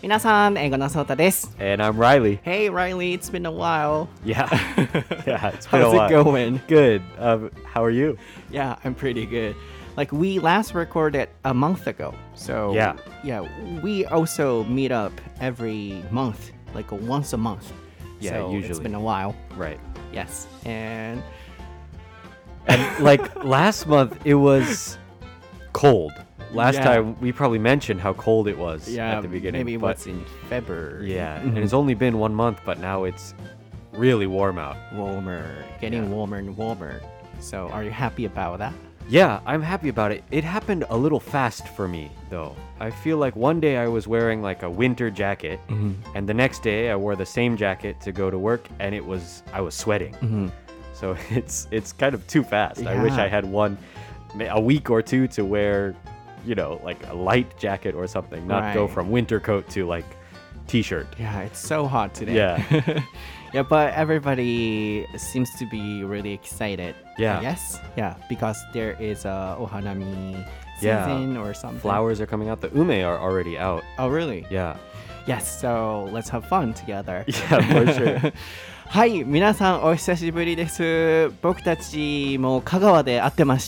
皆さん、英語のソータです。 And I'm Riley. Hey Riley, it's been a while. Yeah. Yeah, it's been How's a while. it going? Good. How are you? Yeah, I'm pretty good. Like we last recorded a month ago. So yeah, we also meet up every month, like once a month. Yeah, so usually. It's been a while. Right. Yes. And like last month, it was cold. Last Yeah. time, we probably mentioned how cold it was yeah, at the beginning. maybe but what's in February. Yeah, and it's only been 1 month, but now it's really warm out. Warmer, getting warmer and warmer. So are you happy about that? Yeah, I'm happy about it. It happened a little fast for me, though. I feel like one day I was wearing like a winter jacket, and the next day I wore the same jacket to go to work, and I was sweating. So it's kind of too fast. I wish Yeah. I had a week or two to wear, like a light jacket or something, not go Right. from winter coat to like t-shirt. Yeah, it's so hot today. Yeah. Yeah, but everybody seems to be really excited. Yeah. Yes. Yeah, because there is a ohanami Yeah. season or something. Flowers are coming out. The ume are already out. Oh, really? Yeah. Yes. So let's have fun together. Yeah, for sure. はい、皆さんお久しぶりです。僕たちも香川で会ってまして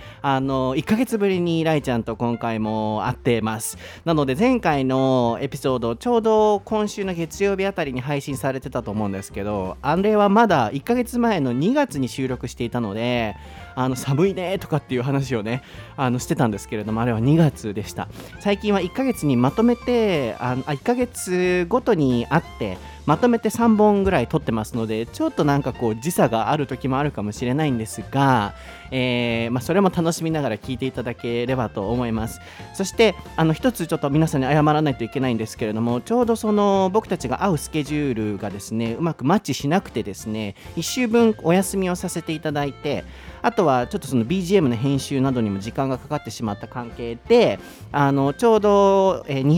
、1ヶ月ぶりにライちゃんと今回も会ってます。なので前回のエピソード、ちょうど今週の月曜日あたりに配信されてたと思うんですけど、あれはまだ1ヶ月前の2月に収録していたので、寒いねとかっていう話をね、してたんですけれども、あれは2月でした。最近は1ヶ月にまとめて、1ヶ月ごとに会って、まとめて3本ぐらい撮ってますので、ちょっとなんかこう時差がある時もあるかもしれないんですが、それも楽しみながら聞いていただければと思います。そして一つちょっと皆さんに謝らないといけないんですけれども、ちょうどその僕たちが会うスケジュールがですね、うまくマッチしなくてですね、1週分お休みをさせていただいて、あとはちょっとその BGM の編集などにも時間がかかってしまった関係で、ちょうど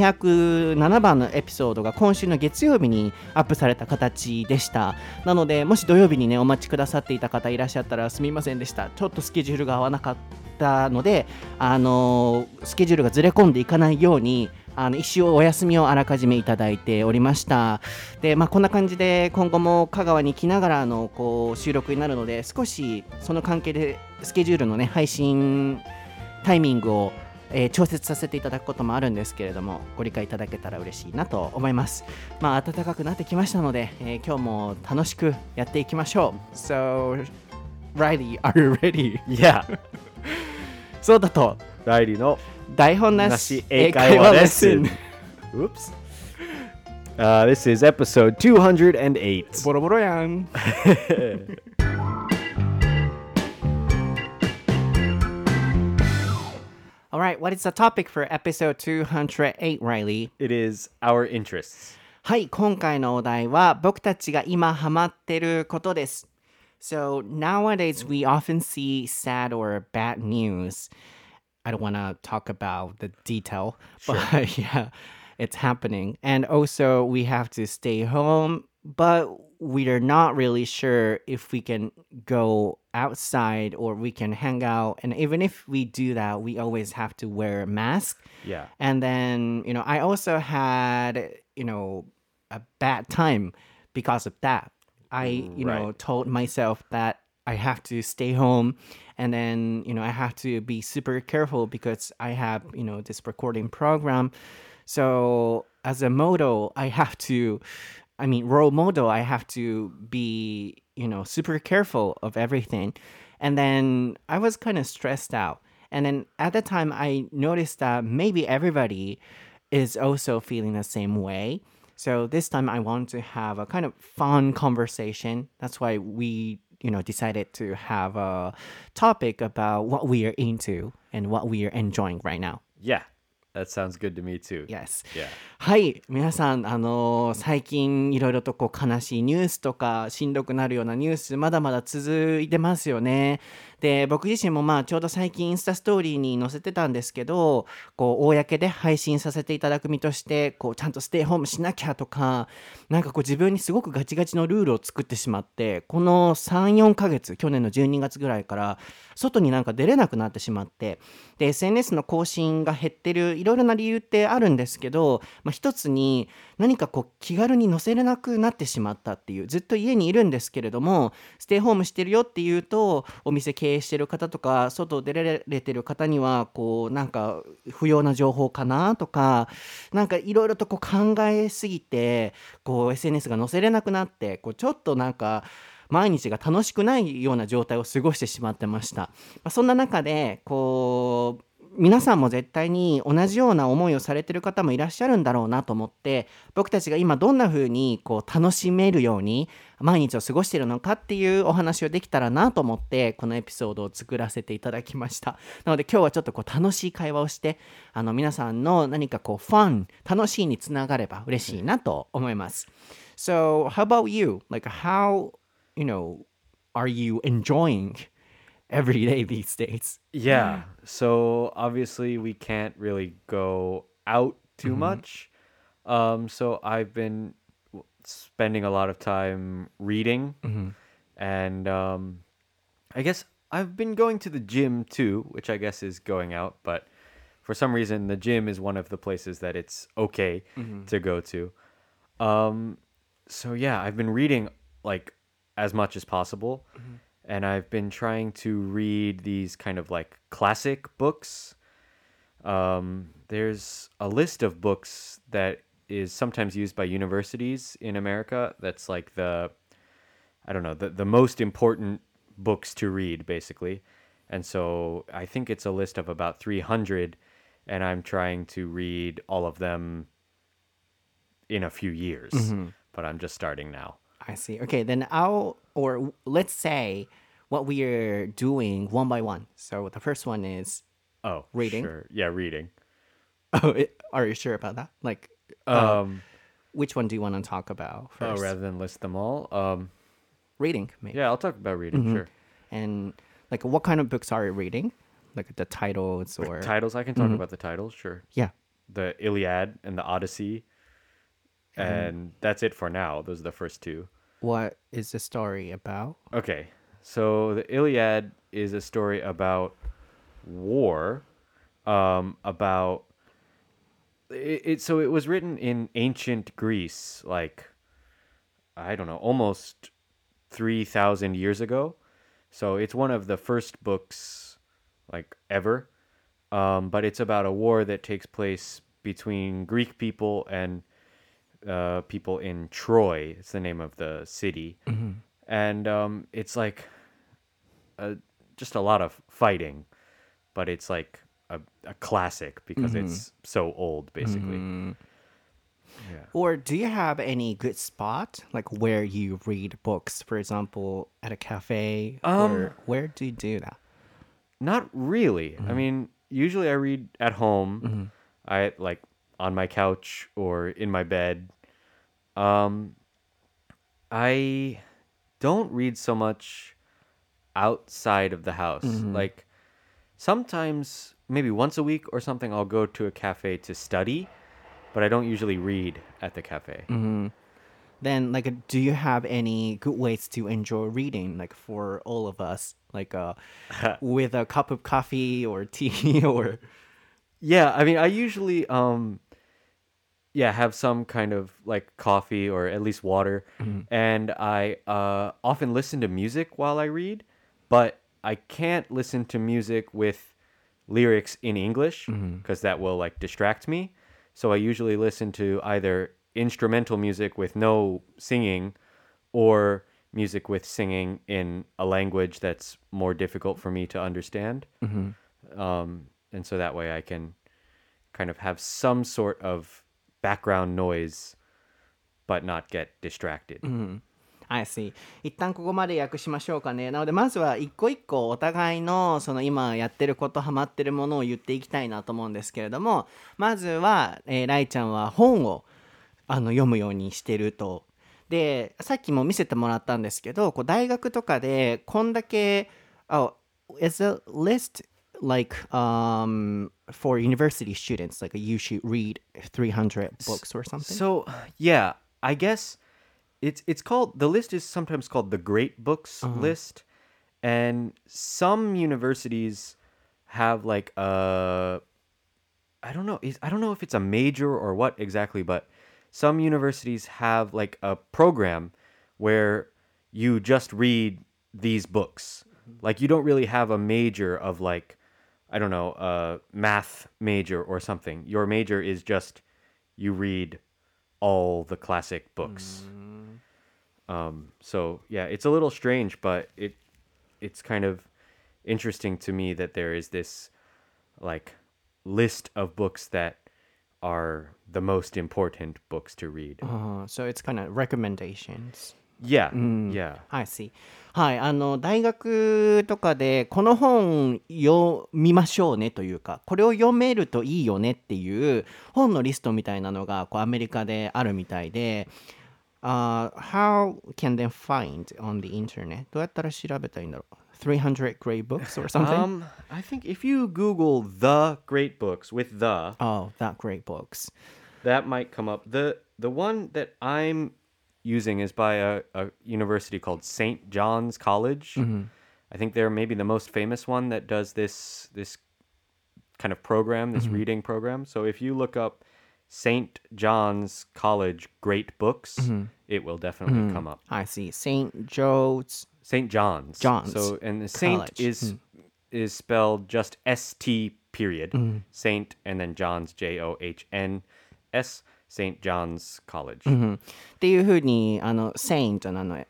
207番のエピソードが今週の月曜日にアップされた形でした。なのでもし土曜日にねお待ちくださっていた方いらっしゃったらすみませんでした。ちょっとスケジュールが合わなかったので、スケジュールがずれ込んでいかないように一週お休みをあらかじめいただいておりました。で、こんな感じで今後も香川に来ながらの収録になるので、少しその関係でスケジュールのね配信タイミングを調節させていただくこともあるんですけれども、ご理解いただけたら嬉しいなと思います。暖かくなってきましたので、今日も楽しくやっていきましょう。So, Riley, are you ready? Yeah. そうだと、 Riley の台本なし英会話レッスン。Oops. This is episode 208. ボロボロやん。Alright, what is the topic for episode 208, Riley? It is our interests. はい、今回のお題は僕たちが今ハマってることです。So, nowadays we often see sad or bad news. I don't want to talk about the detail, but yeah, it's happening. And also we have to stay home, but we are not really sure if we can go outside or we can hang out. And even if we do that, we always have to wear a mask. Yeah. And then, I also had, a bad time because of that. I, told myself that I have to stay home, and then, I have to be super careful because I have, this recording program. So as a model, role model, I have to be, super careful of everything. And then I was kind of stressed out. And then at the time, I noticed that maybe everybody is also feeling the same way. So this time I want to have a kind of fun conversation. That's why we, decided to have a topic about what we are into and what we are enjoying right now. Yeah. That sounds good to me too. Yes. Yeah. はい、皆さん、最近いろいろと悲しいニュースとかしんどくなるようなニュースまだまだ続いてますよね。 で、僕自身もまあちょうど最近インスタストーリーに載せてたんですけど、こう公で配信させていただく身として、こうちゃんとステイホームしなきゃとか、なんかこう自分にすごくガチガチのルールを作ってしまって、この3、4ヶ月、去年の12月ぐらいから外になんか出れなくなってしまって、で、SNS の更新が減ってるいろいろな理由ってあるんですけど、一つに何かこう気軽に載せれなくなってしまったっていう、ずっと家にいるんですけれども、ステイホームしてるよっていうと、お店経営してる方とか外出られてる方にはこうなんか不要な情報かなとか、なんかいろいろとこう考えすぎてこう SNS が載せれなくなって、こうちょっとなんか毎日が楽しくないような状態を過ごしてしまってました。そんな中でこう皆さんも絶対に同じような思いをされてる方もいらっしゃるんだろうなと思って、僕たちが今どんな風にこう楽しめるように毎日を過ごしているのかっていうお話をできたらなと思って、このエピソードを作らせていただきました。なので今日はちょっとこう楽しい会話をして、皆さんの何かこうファン、楽しいにつながれば嬉しいなと思います。So, how about you? Like how, are you enjoying every day these days? Yeah. So obviously we can't really go out too much. So I've been spending a lot of time reading, and I guess I've been going to the gym too, which I guess is going out, but for some reason the gym is one of the places that it's okay to go to. So yeah, I've been reading like as much as possible, and I've been trying to read these kind of like classic books. There's a list of books that is sometimes used by universities in America. That's like I don't know, the most important books to read, basically. And so I think it's a list of about 300, and I'm trying to read all of them in a few years, but I'm just starting now. I see. Okay, then let's say what we are doing one by one. So the first one is Oh, reading. Sure. Yeah, reading. Are you sure about that? Like, which one do you want to talk about first? Rather than list them all. Reading, maybe. Yeah, I'll talk about reading, sure. And like, what kind of books are you reading? Like the titles or Titles, I can talk about the titles, sure. yeah. The Iliad and the Odyssey. And that's it for now. Those are the first two. What is the story about? Okay. So the Iliad is a story about war, about so it was written in ancient Greece, like I don't know, almost 3,000 years ago. So it's one of the first books like ever. But it's about a war that takes place between Greek people and people in Troy. It's the name of the city. And it's like just a lot of fighting, but it's like a classic because it's so old, basically. Yeah. Or do you have any good spot, like where you read books, for example, at a cafe? Or where do you do that? Not really. I mean, usually I read at home. I like on my couch or in my bed. I don't read so much outside of the house. Like sometimes, maybe once a week or something, I'll go to a cafe to study, but I don't usually read at the cafe. Then, like, do you have any good ways to enjoy reading, like for all of us, like with a cup of coffee or tea or? Yeah, I mean, I usually have some kind of like coffee or at least water, and I often listen to music while I read, but I can't listen to music with lyrics in English because that will like distract me. So I usually listen to either instrumental music with no singing or music with singing in a language that's more difficult for me to understand. And so that way I can kind of have some sort of background noise but not get distracted. I see. 一旦ここまで訳しましょうかね。なのでまずは一個一個お互いのその今やってることハマってるものを言っていきたいなと思うんですけれども、まずは、ライちゃんは本を読むようにしてると。でさっきも見せてもらったんですけど、こう大学とかでこんだけ is a list like for university students, like you should read 300 books or something? So, yeah, I guess it's called, the list is sometimes called the Great Books list, and some universities have like a, I don't know if it's a major or what exactly, but some universities have like a program where you just read these books. Like you don't really have a major of like, I don't know, a math major or something. Your major is just you read all the classic books. So yeah, it's a little strange, but it's kind of interesting to me that there is this like list of books that are the most important books to read. So it's kind of recommendations. Yeah, yeah. I see. はい、大学とかでこの本読みましょうねというか、これを読めるといいよねっていう本のリストみたいなのがこうアメリカであるみたいで、how can they find on the internet? どうやったら調べたらいいんだろう ?300 great books or something? I think if you Google the great books with the, Oh, that great books. that might come up. The one that I'm using is by a university called St. John's College. I think they're maybe the most famous one that does this kind of program, this reading program. So if you look up St. John's College Great Books, it will definitely come up. I see. St. John's. St. John's. John's So and the Saint College. is spelled just ST period. Saint and then John's JOHNS. St. John's College. っていうふうにsaint なの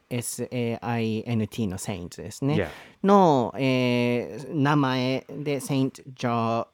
SAINT の saint ですね、 Yeah. の、名前で Saint John's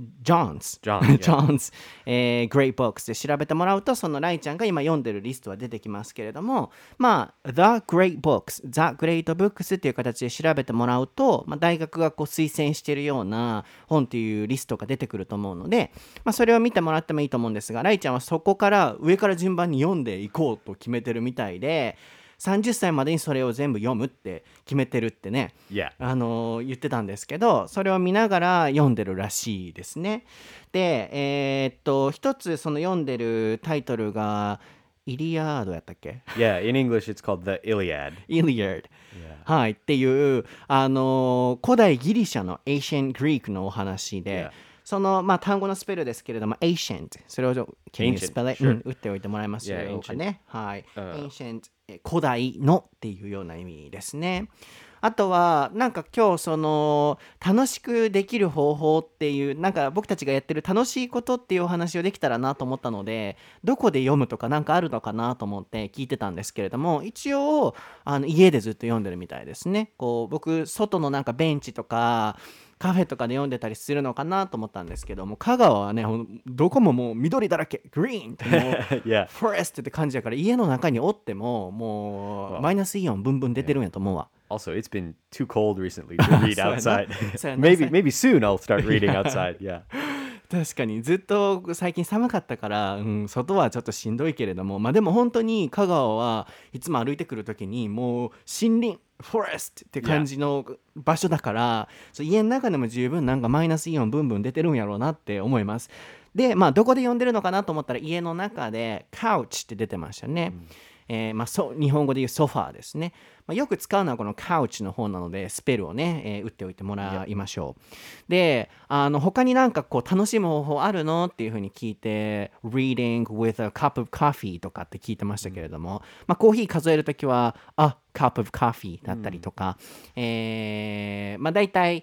John, yeah. John's、Great Books で調べてもらうとそのライちゃんが今読んでるリストは出てきますけれども、まあ The Great Books The Great Books っていう形で調べてもらうと、まあ、大学がこう推薦しているような本っていうリストが出てくると思うので、まあ、それを見てもらってもいいと思うんですが、ライちゃんはそこから上から順番に読んでいこうと決めてるみたいで、30歳までにそれを全部読むって決めてるってね、 Yeah. 言ってたんですけど、それを見ながら読んでるらしいですね。で、一つその読んでるタイトルがイリアードやったっけ？ Yeah, in English it's called the Iliad. イリアード。はい、っていう古代ギリシャの Ancient Greek のお話で、 Yeah. その、まあ、単語のスペルですけれども Ancient、 それを Can you Ancient, spell it? sure. 打っておいてもらえますでしょうかね。 Yeah, はい、Ancient 古代のっていうような意味ですね。あとはなんか今日その楽しくできる方法っていうなんか僕たちがやってる楽しいことっていうお話をできたらなと思ったので、どこで読むとかなんかあるのかなと思って聞いてたんですけれども、一応家でずっと読んでるみたいですね。こう僕外のなんかベンチとかカフェとかで読んでたりするのかなと思ったんですけども、香川はねどこももう緑だらけ、グリーンってもう Yeah. フォレストって感じだから、家の中におってももうマイナスイオンブンブン出てるんやと思うわ。 Also, it's been too cold recently to read そうやな。 outside. そうやな。 maybe soon I'll start reading outside. Yeah. 確かにずっと最近寒かったから、外はちょっとしんどいけれども、まあでも本当に香川はいつも歩いてくる時にもう森林フォレストって感じの場所だから、そう家の中でも十分なんかマイナスイオンブンブン出てるんやろうなって思います。でまあどこで読んでるのかなと思ったら家の中でカウチって出てましたね。まあ、日本語で言うソファーですね。まあ、よく使うのはこのカウチの方なのでスペルをね、打っておいてもらいましょう。で他になんかこう楽しむ方法あるのっていうふうに聞いて Reading with a cup of coffee とかって聞いてましたけれども、まあ、コーヒー数えるときはa cup of coffee だったりとか、まあ大体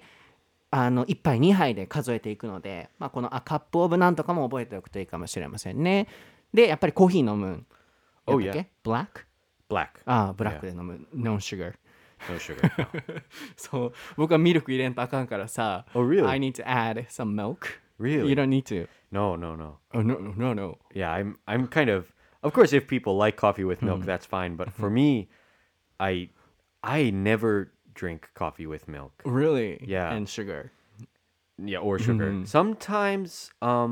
1杯2杯で数えていくので、まあ、このa cup of なんとかも覚えておくといいかもしれませんね。でやっぱりコーヒー飲む。 Oh, やったっけ？ Black？ Black. ああ、ブラックで飲む。ノンシュガー。 No sugar. No. そう、僕はミルク入れんとあかんからさ。 Oh, really? I need to add some milk. Really? You don't need to. No, no, no. Oh, no, no, no. Yeah, I'm kind of course if people like coffee with milk, that's fine, but for me, I never drink coffee with milk. Really? Yeah. And sugar. Yeah, or sugar. Sometimes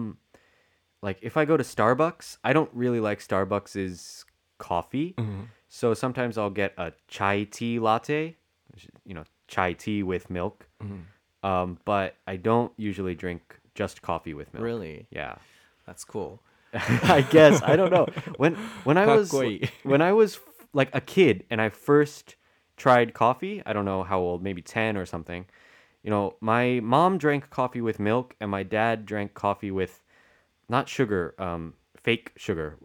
like if I go to Starbucks, I don't really like Starbucks's coffee. So sometimes I'll get a chai tea latte, which is, chai tea with milk. But I don't usually drink just coffee with milk. Really? Yeah. That's cool. I guess I don't know. When I was かっこいい。 when I was like a kid and I first tried coffee, I don't know how old, maybe 10 or something. You know, my mom drank coffee with milk and my dad drank coffee with not sugar, fake sugar.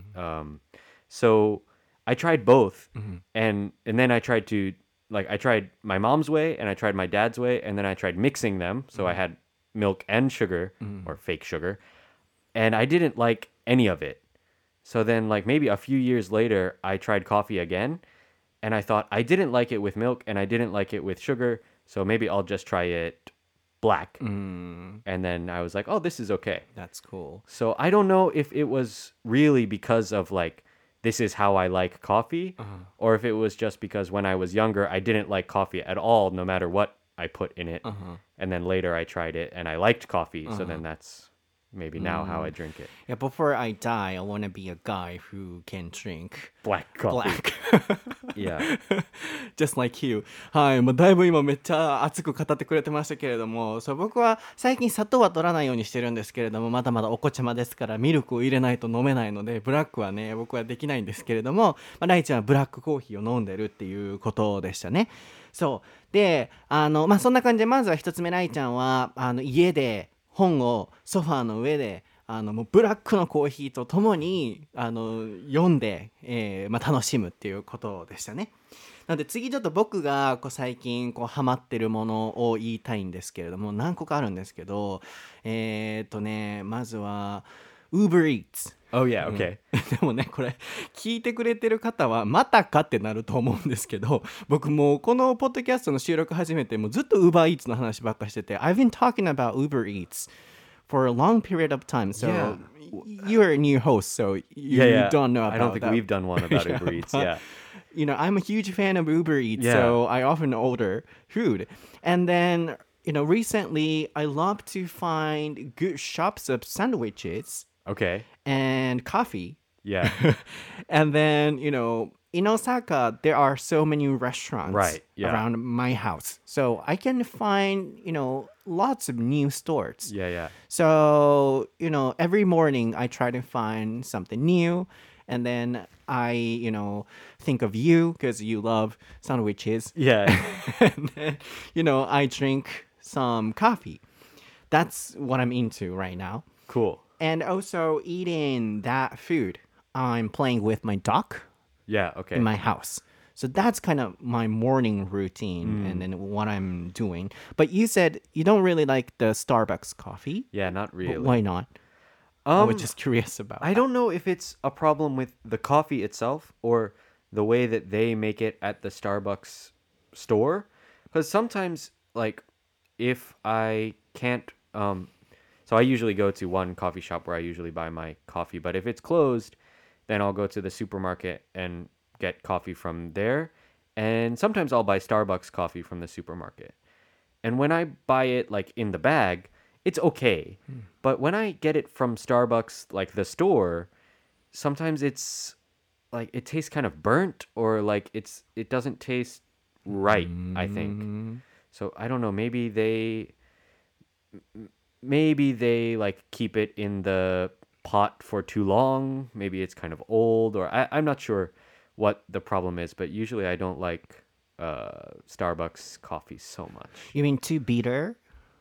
So I tried both, and then I tried to I tried my mom's way and I tried my dad's way, and then I tried mixing them. So I had milk and sugar or fake sugar, and I didn't like any of it. So then maybe a few years later, I tried coffee again, and I thought I didn't like it with milk and I didn't like it with sugar. So maybe I'll just try it black. And then I was like, oh, this is okay. That's cool. So I don't know if it was really because of this is how I like coffee, or if it was just because when I was younger, I didn't like coffee at all, no matter what I put in it. And then later I tried it and I liked coffee. So then that's maybe now how I drink it. Yeah, before I die, I want to be a guy who can drink Black coffee. black. Yeah. Just like you. はい、もうだいぶ今めっちゃ熱く語ってくれてましたけれども、そう僕は最近砂糖は取らないようにしてるんですけれども、まだまだお子ちゃまですからミルクを入れないと飲めないので、ブラックはね僕はできないんですけれども、ライちゃんはブラックコーヒーを飲んでるっていうことでしたね。そうで、そんな感じでまずは一つ目、ライちゃんは家で本をソファーの上でもうブラックのコーヒーとともに読んで、楽しむっていうことでしたね。なので次ちょっと僕が最近ハマってるものを言いたいんですけれども、何個かあるんですけど、まずは Uber Eats。 Oh, yeah. Okay. でもねこれ聞いてくれてる方はまたかってなると思うんですけど、僕もうこのポッドキャストの収録始めてもうずっと Uber Eats の話ばっかしてて、 I've been talking about Uber Eats for a long period of time. So Yeah. you're a new host, so you don't know about I don't think that. we've done one about Uber Eats. but, Yeah. You know, I'm a huge fan of Uber Eats, Yeah. so I often order food. And then, recently I love to find good shops of sandwiches Okay. and coffee. Yeah. And then, in Osaka, there are so many restaurants Right, yeah. around my house. So I can find, lots of new stores. Yeah, yeah. So, every morning I try to find something new. And then I, think of you because you love sandwiches. Yeah. And then, I drink some coffee. That's what I'm into right now. Cool. And also eating that food, I'm playing with my dog Yeah, okay. in my house. So that's kind of my morning routine and then what I'm doing. But you said you don't really like the Starbucks coffee. Yeah, not But really. why not? I was just curious about I don't know if it's a problem with the coffee itself or the way that they make it at the Starbucks store. Because sometimes, if I can't, so I usually go to one coffee shop where I usually buy my coffee. But if it's closed, then I'll go to the supermarket and get coffee from there. And sometimes I'll buy Starbucks coffee from the supermarket. And when I buy it in the bag, it's okay. But when I get it from Starbucks, the store, sometimes it's it tastes kind of burnt or it doesn't taste right, I think. So I don't know, maybe they keep it in the pot for too long. Maybe it's kind of old, or I'm not sure what the problem is, but usually I don't like Starbucks coffee so much. You mean too bitter?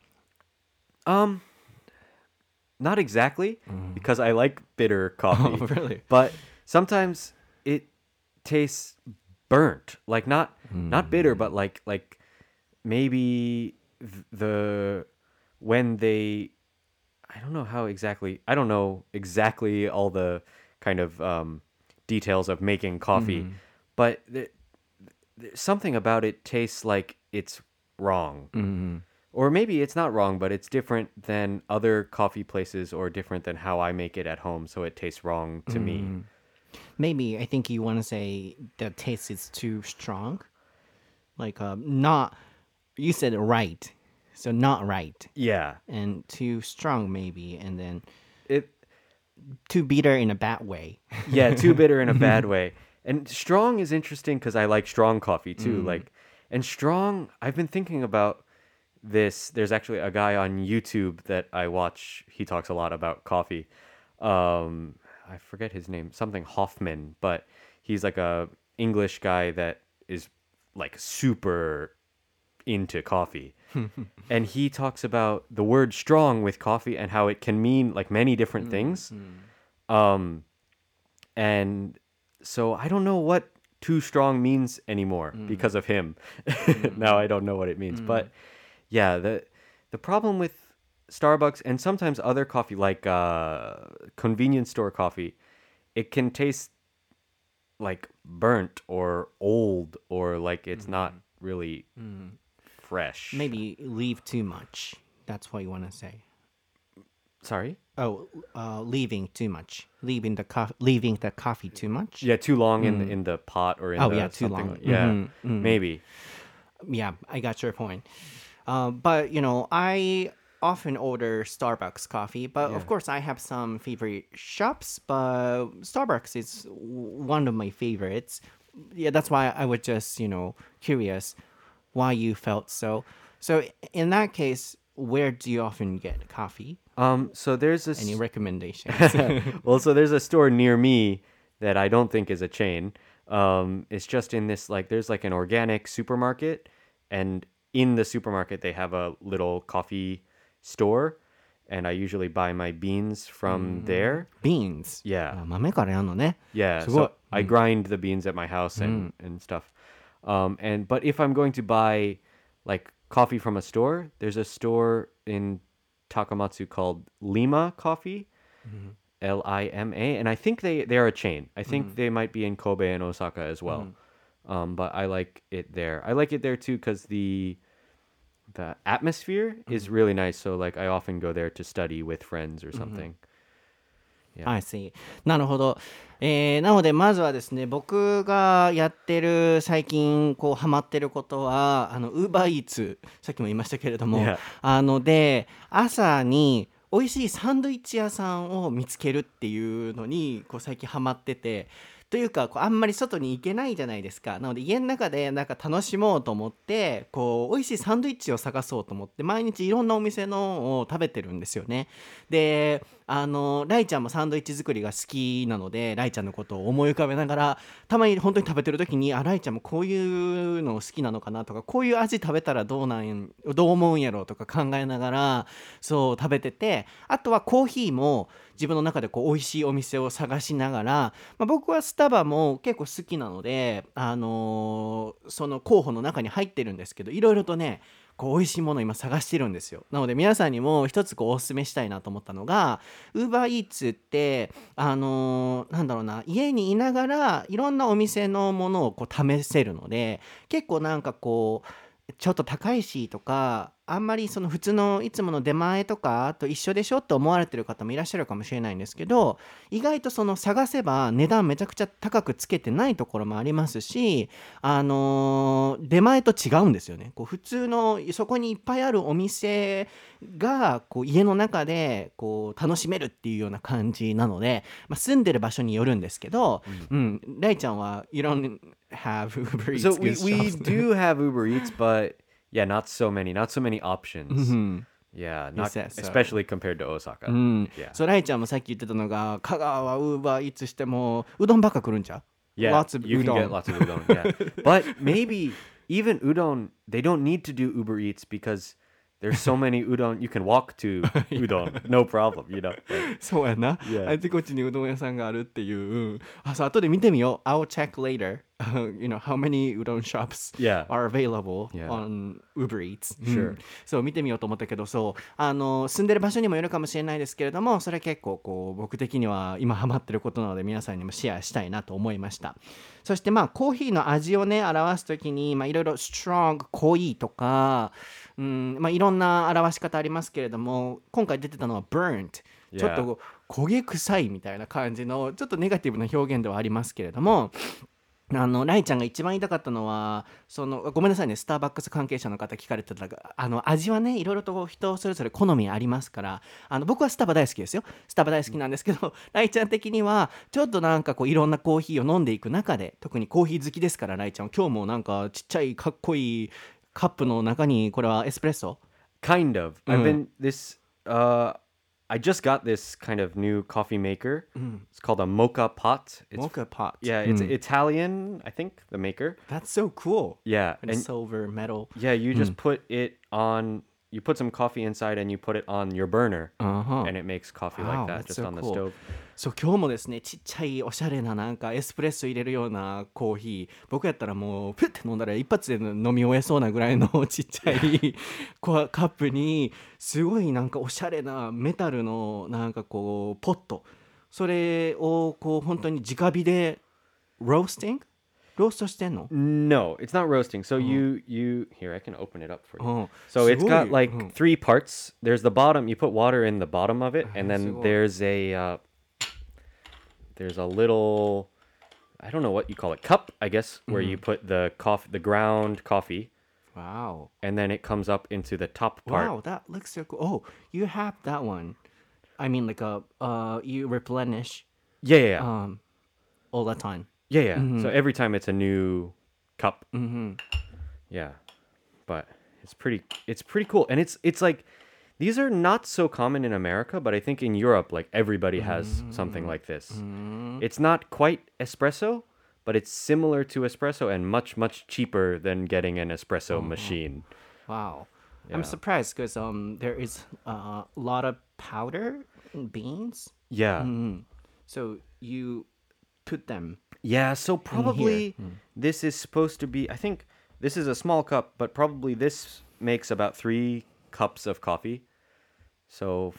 Not exactly, because I like bitter coffee. Oh, really? But sometimes it tastes burnt, not bitter, but maybe when they, I don't know exactly all the kind of details of making coffee, but something about it tastes like it's wrong. Or maybe it's not wrong, but it's different than other coffee places or different than how I make it at home, so it tastes wrong to me. Maybe I think you want to say the taste is too strong. Not, you said right. So not right. Yeah. And too strong maybe. And then It too bitter in a bad way. yeah, too bitter in a bad way. And strong is interesting because I like strong coffee too. And strong, I've been thinking about this. There's actually a guy on YouTube that I watch. He talks a lot about coffee. I forget his name, something Hoffman, but he's like a English guy that is like super into coffee. And he talks about the word strong with coffee and how it can mean like many different things. And so I don't know what too strong means anymore because of him. Now I don't know what it means. But yeah, the problem with Starbucks and sometimes other coffee like convenience store coffee, it can taste like burnt or old or like it's not really fresh. Maybe leave too much. That's what you want to say. Sorry? Oh, leaving too much. Leaving the coffee too much. Yeah, too long in the pot or in the yeah, too something long. Yeah, maybe. Yeah, I got your point. But I often order Starbucks coffee, but of course I have some favorite shops, but Starbucks is one of my favorites. Yeah, that's why I was just, curious why you felt so. So in that case, where do you often get coffee? So there's this Any recommendations? well, so there's a store near me that I don't think is a chain. It's just in this there's like an organic supermarket, and in the supermarket they have a little coffee store, and I usually buy my beans from there. Beans. Yeah. 豆からやんのね。 Yeah, すごい。 so I grind the beans at my house and stuff. But if I'm going to buy like coffee from a store, there's a store in Takamatsu called Lima Coffee, Lima, and I think they're a chain. I think they might be in Kobe and Osaka as well. But I like it there. I like it there too because the atmosphere is really nice. So like I often go there to study with friends or something. I see. なるほど。なのでまずはですね、僕がやってる最近ハマってることはUber Eats、さっきも言いましたけれども、で朝に美味しいサンドイッチ屋さんを見つけるっていうのに最近ハマってて。というかあんまり外に行けないじゃないですか。なので家の中で楽しもうと思って美味しいサンドイッチを探そうと思って毎日いろんなお店のを食べてるんですよね。でライちゃんもサンドイッチ作りが好きなのでライちゃんのことを思い浮かべながらたまに本当に食べてる時にライちゃんもこういうの好きなのかなとかこういう味食べたらどう思うんやろうとか考えながらそう食べてて、あとはコーヒーも自分の中で美味しいお店を探しながら、僕はスタバも結構好きなので、その候補の中に入ってるんですけど、いろいろとね美味しいものを今探してるんですよ。なので皆さんにも一つおすすめしたいなと思ったのが Uber Eats ってなんだろうな、家にいながらいろんなお店のものを試せるので、結構ちょっと高いしとかあんまりその普通のいつもの出前とかと一緒でしょって思われてる方もいらっしゃるかもしれないんですけど、意外と探せば値段めちゃくちゃ高くつけてないところもありますし、出前と違うんですよね。普通のそこにいっぱいあるお店が家の中で楽しめるっていうような感じなので、住んでる場所によるんですけど、ライちゃんはYou don't have Uber Eats. So we do have Uber Eats, but yeah, not so many options. Yeah, not said so. especially compared to Osaka. Yeah. そうライちゃんもさっき言ってたのが香川は Uber Eats してもうどんばっか来るんちゃう Yeah, Lots of you can udon. get lots of udon. Yeah, but maybe even udon, they don't need to do Uber Eats because there's so many udon. You can walk to udon, no problem. Like, そうやな、 Yeah. あちこちにうどん屋さんがあるっていう、そう後で見てみよう。 I'll check later how many udon shops Yeah. are available Yeah. on Uber Eats. Sure. そう見てみようと思ったけど、そう住んでる場所にもよるかもしれないですけれども、それ結構僕的には今ハマってることなので皆さんにもシェアしたいなと思いました。そしてコーヒーの味をね表すときにいろいろ strong 濃いとか、いろんな表し方ありますけれども、今回出てたのは burnt、 ちょっと焦げ臭いみたいな感じのちょっとネガティブな表現ではありますけれども、 ライちゃんが一番言いたかったのは、ごめんなさいね、スターバックス関係者の方聞かれてたが、味はね、いろいろとこう人それぞれ好みありますから、僕はスタバ大好きですよ。スタバ大好きなんですけど、ライちゃん的には、ちょっとなんかこう、いろんなコーヒーを飲んでいく中で、特にコーヒー好きですから、ライちゃんは今日もなんかちっちゃいかっこいいカップの中に、これはエスプレッソ Kind of. I've been this. I just got this kind of new coffee maker. It's called a mocha pot. It's mocha pot. yeah, it's Italian, I think, the maker. That's so cool. Yeah, And silver metal. yeah, you just put it on. You put some coffee inside, and you put it on your burner, and it makes coffee Wow, like that, that's just so on the cool. stove. そう今日もですねちっちゃいおしゃれななんかエスプレッソ入れるようなコーヒー僕やったらもうプッて飲んだら一発で飲み終えそうなぐらいのちっちゃいカップにすごいなんかおしゃれなメタルのなんかこうポットそれをこう本当に直火でロースティングローストしてんの No, it's not roasting. So you here, I can open it up for you. Oh, So it's got すごい。 like three parts. There's the bottom. You put water in the bottom of it, and す then ごい。 there's a little, I don't know what you call it, cup, I guess, where you put the the ground coffee, Wow. and then it comes up into the top part. Wow, that looks so cool. Oh, you have that one. I mean like you replenish Yeah, yeah, yeah. All the time. Yeah, yeah. So every time it's a new cup. Yeah, but it's pretty cool, and it's like these are not so common in America, but I think in Europe, like everybody has something like this. It's not quite espresso, but it's similar to espresso and much cheaper than getting an espresso machine. Wow. Yeah. I'm surprised because there is a lot of powder beans. Yeah. So you put them. Yeah, so probably this is supposed to be, I think this is a small cup, but probably this makes about 3 cups of coffee. So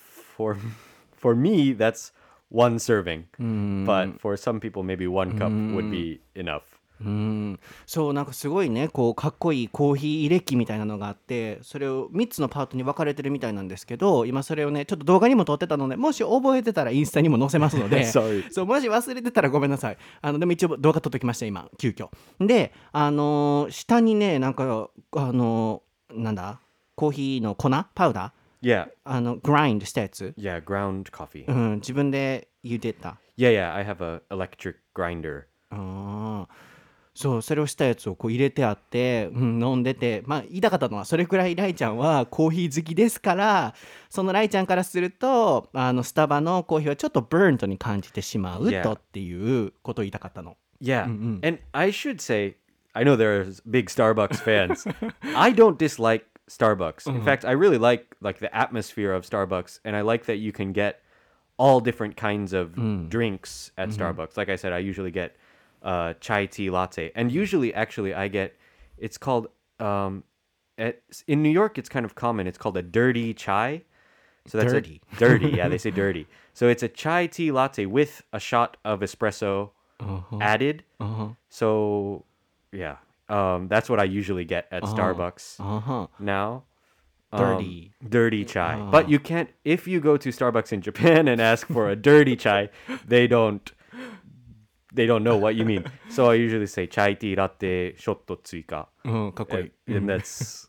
for me, that's one serving. But for some people, maybe 1 cup would be enough. そうなんかすごいねこうかっこいいコーヒー入れ機みたいなのがあってそれを3つのパートに分かれてるみたいなんですけど今それをねちょっと動画にも撮ってたのでもし覚えてたらインスタにも載せますので Sorry. そうもし忘れてたらごめんなさいでも一応動画撮っときました今急遽で下にねなんかなんだコーヒーの粉パウダ Yeah. ーグラインドしたやつ、 Yeah, ground coffee. 自分で茹でた Yeah, yeah, I have a electric grinder. そうそれをしたやつをこう入れてあって、飲んでてまあ言いたかったのはそれくらいライちゃんはコーヒー好きですからそのライちゃんからするとスタバのコーヒーはちょっとブーントに感じてしまう Yeah. とっていうことを言いたかったの。 Yeah. And I should say, I know there's big Starbucks fans. I don't dislike Starbucks. In fact, I really like the atmosphere of Starbucks, and I like that you can get all different kinds of drinks at Starbucks. Like I said, I usually get chai tea latte, and usually actually I get it's called in New York it's kind of common. It's called a dirty chai. So that's Dirty. Dirty. Yeah, they say dirty. So it's a chai tea latte with a shot of espresso added. So yeah, that's what I usually get at Starbucks now. Dirty chai. But you can't if you go to Starbucks in Japan and ask for a dirty chai, they don't know what you mean. So I usually say chai tea latte shotto tsuika. かっこいい And that's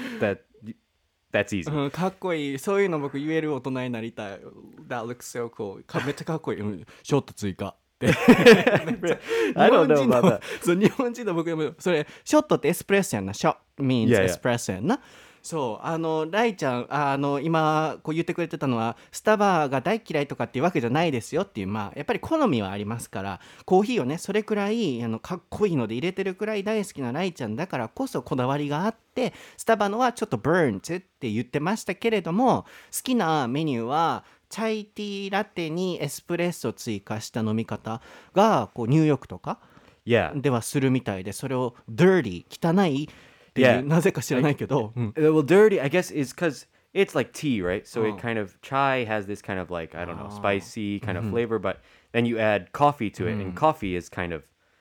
easy. かっこいいそういうの僕言える大人になりたい That looks so cool めっちゃかっこいい、ショット追加 I don't know about that. そう日本人の僕でもそれショットってエスプレッソやんなショット means Yeah, yeah. エスプレッソやんなそうライちゃん今こう言ってくれてたのはスタバが大嫌いとかっていうわけじゃないですよっていうまあやっぱり好みはありますからコーヒーをねそれくらいかっこいいので入れてるくらい大好きなライちゃんだからこそこだわりがあってスタバのはちょっとブーンズって言ってましたけれども好きなメニューはチャイティーラテにエスプレッソ追加した飲み方がこうニューヨークとか Yeah. ではするみたいでそれを dirty 汚いっていう Yeah. なぜか知らないけど、 Well, dirty, I guess, is because it's like tea, right? So it kind of chai has this kind of like I don't know spicy kind of flavor, but then you add coffee to it, and coffee is kind of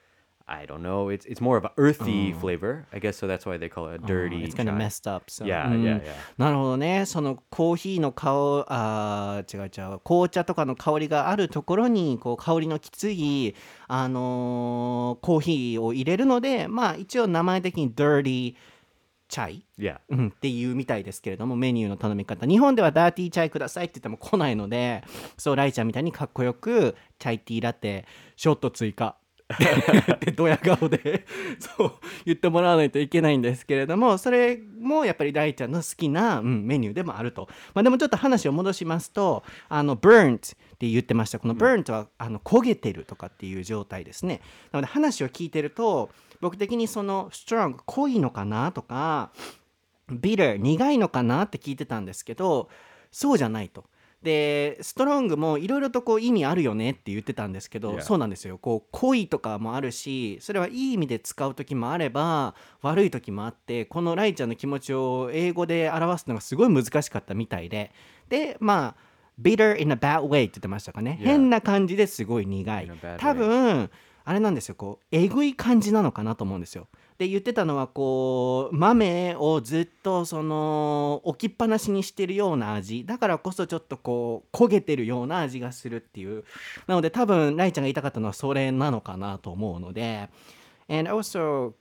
I don't know. It's more of an earthy flavor, I guess. So that's why they call it a dirty It's kind of chai. messed up. So. Yeah, うん yeah, yeah. なるほどね。そのコーヒーの違う。紅茶とかの香りがあるところに、こう香りのきつい、コーヒーを入れるので、まあ一応名前的に dirty チャイ、 Yeah. っていうみたいですけれども、メニューの頼み方。日本ではダーティーチャイくださいって言っても来ないので、そう、ライちゃんみたいにかっこよく、チャイティーラテ、ショット追加。でドヤ顔でそう言ってもらわないといけないんですけれども、それもやっぱりライちゃんの好きな、メニューでもあると。まあ、でもちょっと話を戻しますと、burnt って言ってました。この burnt は、焦げてるとかっていう状態ですね。なので話を聞いてると、僕的にその strong 濃いのかなとか bitter 苦いのかなって聞いてたんですけど、そうじゃないと。でストロングもいろいろとこう意味あるよねって言ってたんですけど、 Yeah. そうなんですよ。こう濃いとかもあるし、それはいい意味で使う時もあれば悪い時もあって、このライちゃんの気持ちを英語で表すのがすごい難しかったみたいで、まあ bitter in a bad way って言ってましたかね。 Yeah. 変な感じですごい苦い In a bad way. 多分あれなんですよ、こうえぐい感じなのかなと思うんですよ。で言ってたのは、こう豆をずっとその置きっぱなしにしてるような味だからこそ、ちょっとこう焦げてるような味がするっていう。なので多分ライちゃんが言いたかったのはそれなのかなと思うので。 And also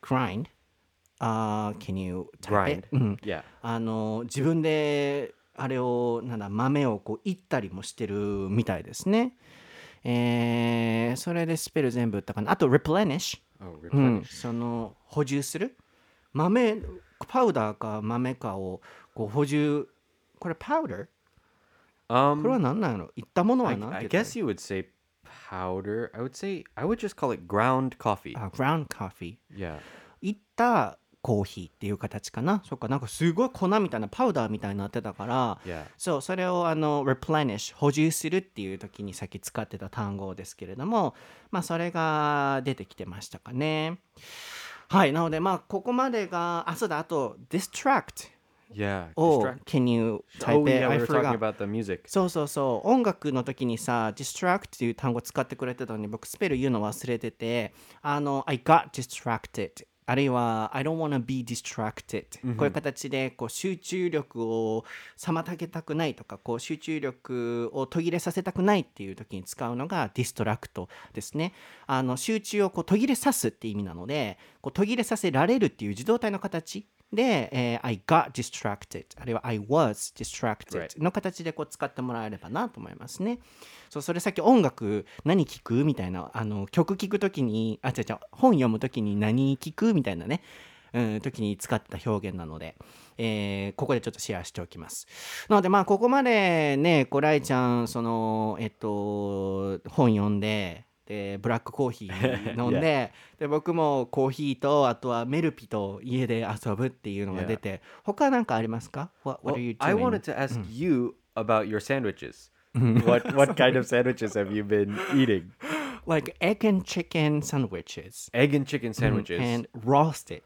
grind、can you type it? Grind. Yeah. 自分であれを豆をこういったりもしてるみたいですね。それでスペル全部言ったかな。あと replenish、 Oh, replenish. その補充する、豆パウダーか豆かをこう補充。これパウダー、これは何なんやろ。いったものは何 I て言ったらいい guess you would say powder. I would just call it ground coffee. ground coffee、 Yeah. いったコーヒーっていう形かな。そっか、なんかすごい粉みたいなパウダーみたいになってたから、 Yeah. そう、それをreplenish 補充するっていう時にさっき使ってた単語ですけれども、まあそれが出てきてましたかね。はい。なのでまあここまでが、そうだ、あと distract Yeah. を Distract. can you type Oh, it? yeah. I We were talking forgot. about the music. そう音楽の時にさ distract っていう単語使ってくれてたのに、僕スペル言うの忘れてて、I got distracted、あるいは I don't wanna be distracted、こういう形でこう集中力を妨げたくないとか、こう集中力を途切れさせたくないっていう時に使うのがディストラクトですね。集中をこう途切れさすって意味なので、こう途切れさせられるっていう受動体の形で、I got distracted、 あるいは I was distracted の形でこう使ってもらえればなと思いますね。そう、それさっき音楽何聴くみたいな、曲聴くときに、本読むときに何聴くみたいなね、時に使った表現なので、ここでちょっとシェアしておきます。なのでまあここまでね、こうライちゃんその本読んで、でブラックコーヒー飲んで、で僕もコーヒーとあとはメルピと家で遊ぶっていうのが出て、他なんかありますか？ What Well, are you doing? I wanted to ask you about your sandwiches. What kind of sandwiches have you been eating? Like egg and chicken sandwiches. Egg and chicken sandwiches. And roasted.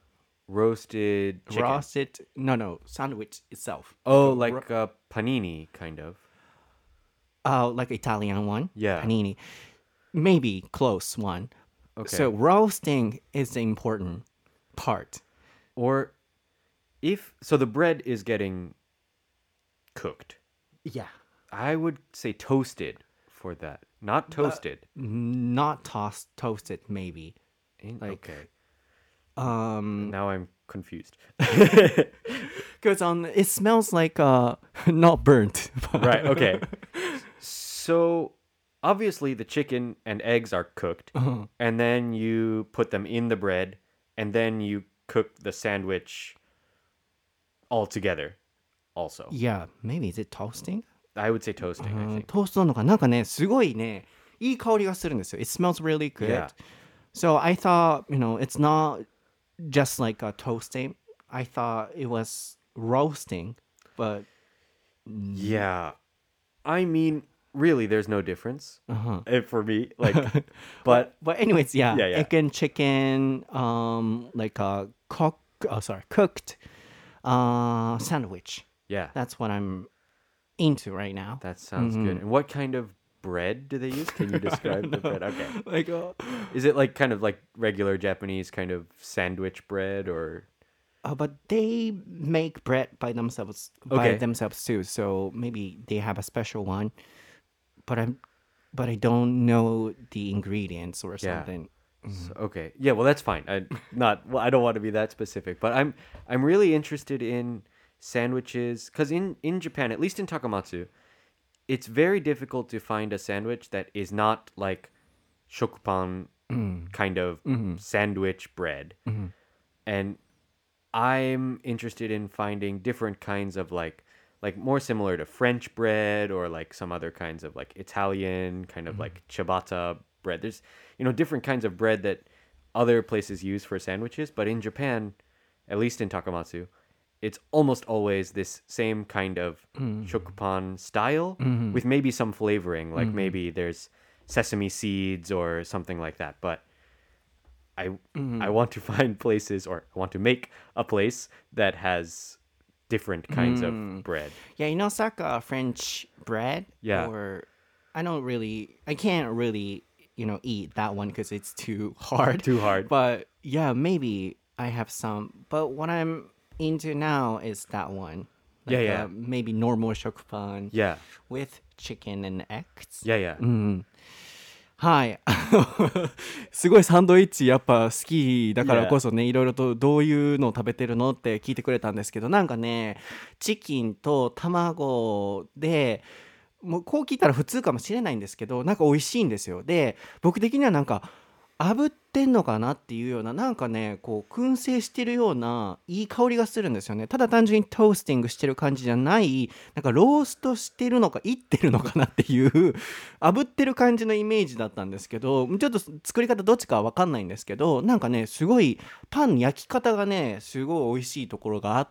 Roasted chicken. Roasted, no, sandwich itself. Oh, like a panini, kind of. Like Italian one? Yeah. Panini. Maybe close one. Okay. So roasting is the important part. Or so the bread is getting cooked. Yeah. I would say toasted for that. Not toasted. Not toasted, maybe. Okay. Now I'm confused. Because it smells like not burnt. Right, okay. So obviously the chicken and eggs are cooked, and then you put them in the bread, and then you cook the sandwich all together also. Yeah, maybe is it toasting? I would say toasting, I think. トーストなのかなんかね、すごいね、いい香りがするんですよ。It smells really good. Yeah. So I thought, it's not just like a toasting. I thought it was roasting, but Yeah. I mean, really, there's no difference for me. But anyways, yeah, Yeah. egg and chicken, like a cooked sandwich. yeah, That's what I'm into right now. that sounds good. And what kind of bread do they use? Can you describe the bread? Okay. Like, Is it like kind of like regular Japanese kind of sandwich bread or but they make bread by themselves Okay. too. So maybe they have a special one. But I don't know the ingredients or Yeah. something. Okay. Yeah, well that's fine. I don't want to be that specific, but I'm really interested in sandwiches cuz in Japan, at least in Takamatsu, it's very difficult to find a sandwich that is not like shokupan kind of sandwich bread. And I'm interested in finding different kinds of like more similar to French bread or like some other kinds of like Italian kind of like ciabatta bread. There's different kinds of bread that other places use for sandwiches, but in Japan, at least in Takamatsu, it's almost always this same kind of shokupan style with maybe some flavoring, like maybe there's sesame seeds or something like that. But I want to find places, or I want to make a place that has different kinds of bread. Yeah, you know, Saka French bread. Yeah. Or I can't really, eat that one because it's too hard. Too hard. But yeah, maybe I have some. But what I'm into now is that one. Yeah, Like, yeah. Maybe normal shokupan Yeah. with chicken and eggs. Yeah, yeah. はい。すごいサンドイッチやっぱ好きだからこそね、いろいろとどういうのを食べてるのって聞いてくれたんですけど、なんかね、チキンと卵で、もうこう聞いたら普通かもしれないんですけど、なんか美味しいんですよ。で、僕的にはなんか炙ってんのかなっていうような、なんかね、こう燻製してるようないい香りがするんですよね。ただ単純にトースティングしてる感じじゃない、なんかローストしてるのかいってるのかなっていう炙ってる感じのイメージだったんですけど、ちょっと作り方どっちかは分かんないんですけど、なんかね、すごいパン焼き方がね、すごい美味しいところがあって、